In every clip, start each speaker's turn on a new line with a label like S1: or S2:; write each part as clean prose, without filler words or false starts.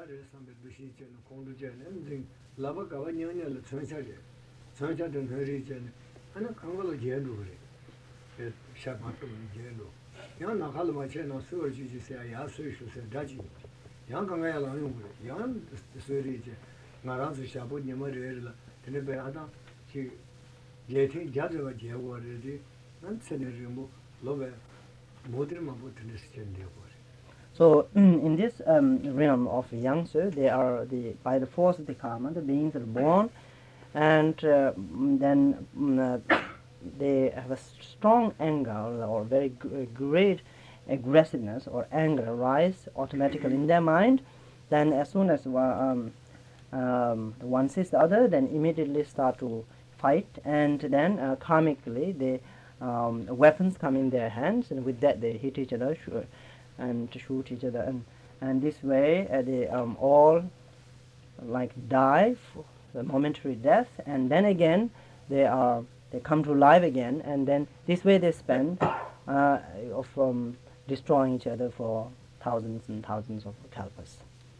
S1: Mare Sambe Bishi and Kondujan, and Lavakavanya, the Sancha and Herigen, and a Kangala Jelu, Shapato Jelu. Young Nakalamachen, Surge, you say, I asked you, said Daji. Young Kangala, young Surge, Naransu Shabu, Yamarilla, Teneberada, she getting Jadava Jawa, and Senator Love, Modern Mabutinist and
S2: So in this realm of Yangtze, they are by the force of the karma, the beings are born, and then they have a strong anger or very great aggressiveness or anger arise automatically in their mind. Then as soon as one sees the other, then immediately start to fight, and then karmically the weapons come in their hands, and with that they hit each other and to shoot each other, and this way they all like die for the momentary death, and then again they come to life again, and then this way they spend of destroying each other for thousands and thousands of kalpas.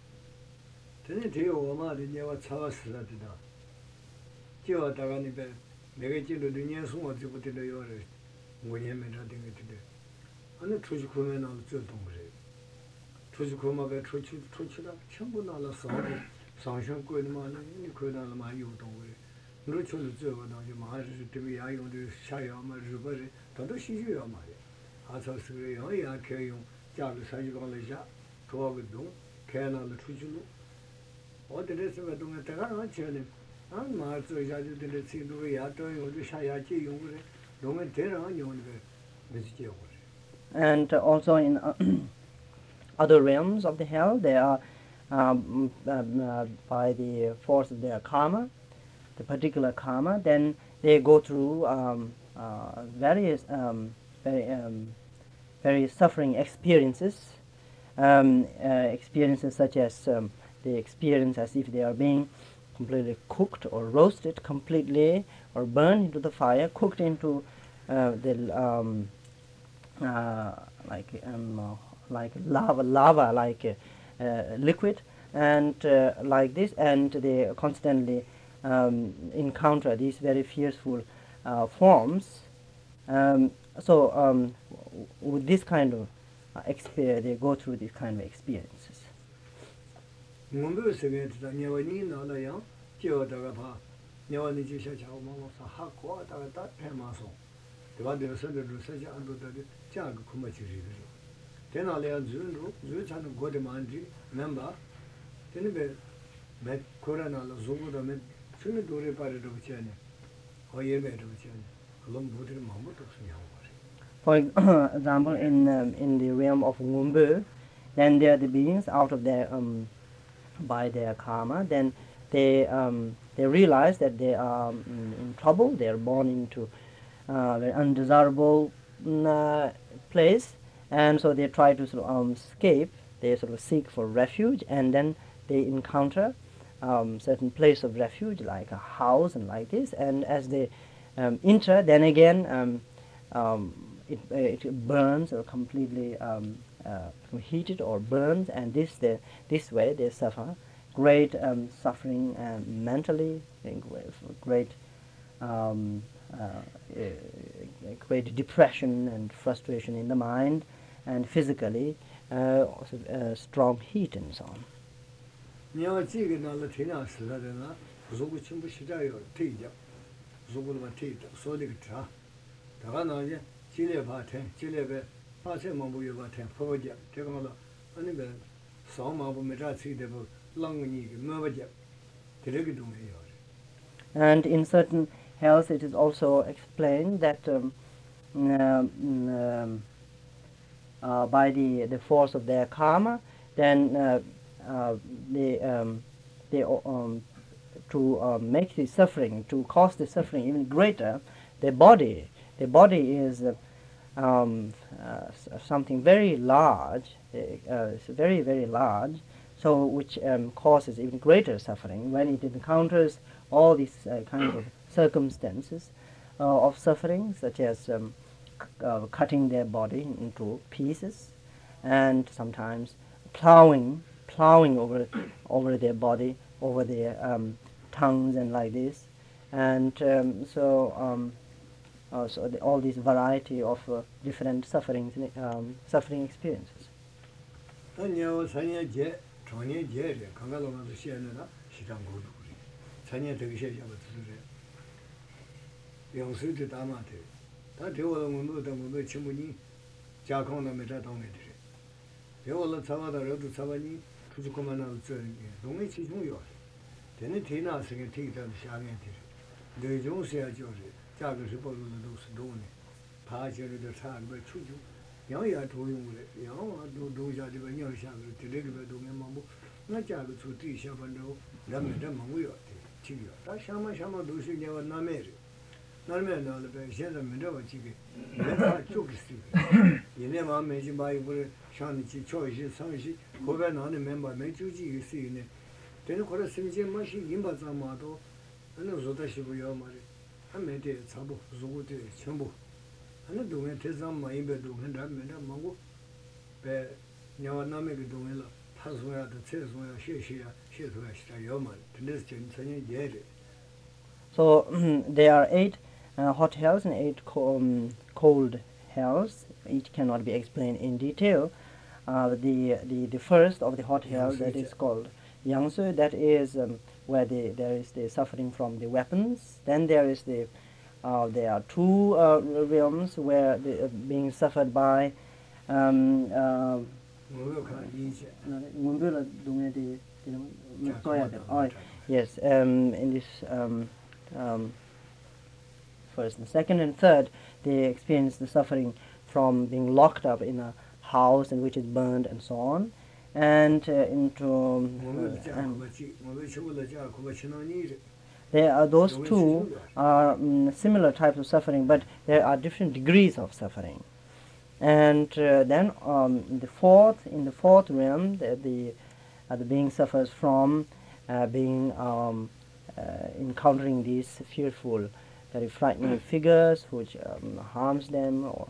S1: And the Trujukuman of Zutongre. Trujukumaga Truchula, Chambunala Song, Sanction Kudman, Nikudana Mayu Dongre. Ruchul Zervan, Yamaha to be I on the Shayama Rubari, Todoshi Yamari. Asa Suri, I carry you, Jalu Sajugan, Tuagadum, Canal Trujulu. All the rest of it don't attack chilling. And Martha Jaju didn't see the Riato, or the Shayachi, don't tell on you on the Mr.
S2: And also in other realms of the hell, they are by the force of their karma, the particular karma, then they go through various very suffering experiences, experiences such as they experience as if they are being completely cooked or roasted completely or burned into the fire, cooked into the like lava like liquid, and like this, and they constantly encounter these very fearful forms. So with this kind of experience, they go through these kind of experiences. For example, in the realm of Ngumbu, then they are the beings out of their by their karma. Then they realize that they are in trouble. They are born into very undesirable place, and so they try to sort of escape. They sort of seek for refuge, and then they encounter certain place of refuge, like a house and like this. And as they enter, then again it burns or completely heated or burns, and this way they suffer great suffering mentally, great great depression and frustration in the mind, and physically also, strong heat and so on. And in certain hells it is also explained that by the force of their karma, then to make the suffering, to cause the suffering even greater, the body is something very large, very, very large, so which causes even greater suffering when it encounters all these kinds of circumstances of suffering, such as cutting their body into pieces, and sometimes plowing plowing over their body, over their tongues and like this, and all these variety of different suffering experiences. So there are 8 hot hells and 8 cold hells. Each cannot be explained in detail. The first of the hot hell, that is called Yangsu, that is where there is the suffering from the weapons. Then there is there are 2 realms where being suffered by yes, in this first and second and third, they experience the suffering from being locked up in a house in which is burned and so on, and there are those 2 are similar types of suffering, but there are different degrees of suffering. And then in the fourth realm, the being suffers from being encountering these fearful, very frightening figures which harms them or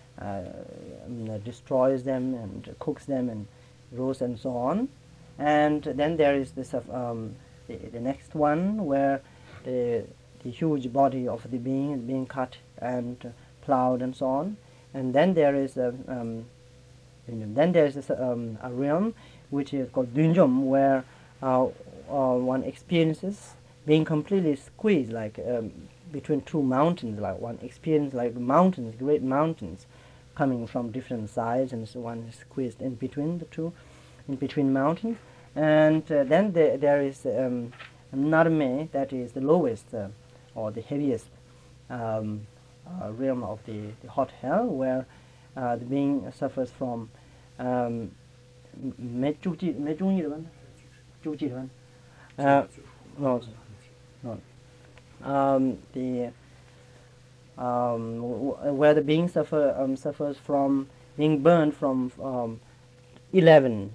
S2: destroys them and cooks them and roasts and so on. And then there is this the next one where the huge body of the being is being cut and plowed and so on. And then there is a realm which is called Dunjom, where one experiences being completely squeezed, like between 2 mountains. Like one experiences like mountains, great mountains, coming from different sides, and so one is squeezed in between the 2, in between mountains. And then there is Narme, that is the lowest or the heaviest realm of the hot hell, where the being suffers from where the being suffers from being burned from 11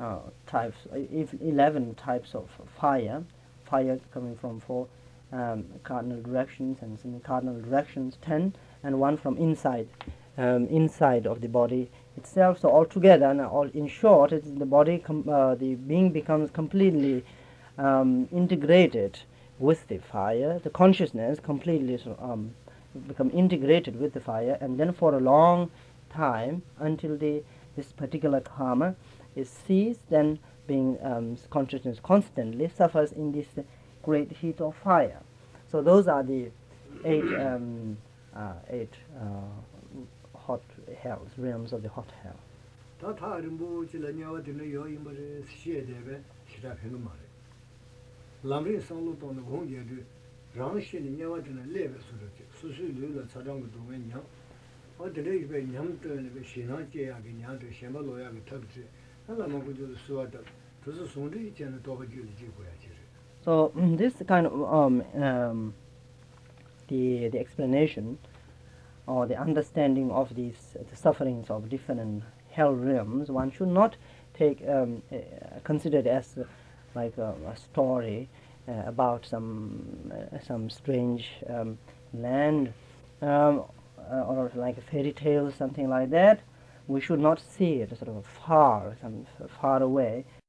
S2: types of fire coming from 4 cardinal directions, and semi-cardinal directions 10, and 1 from inside of the body itself. So altogether, and in short, the body, the being becomes completely integrated with the fire. The consciousness completely become integrated with the fire, and then for a long time, until this particular karma is ceased, then being consciousness constantly suffers in this great heat of fire. So those are the 8 hot hells, realms of the hot hell. So this kind of the explanation or the understanding of the sufferings of different hell realms, one should not take consider it as like a story about some strange land or like a fairy tale, something like that. We should not see it sort of far away,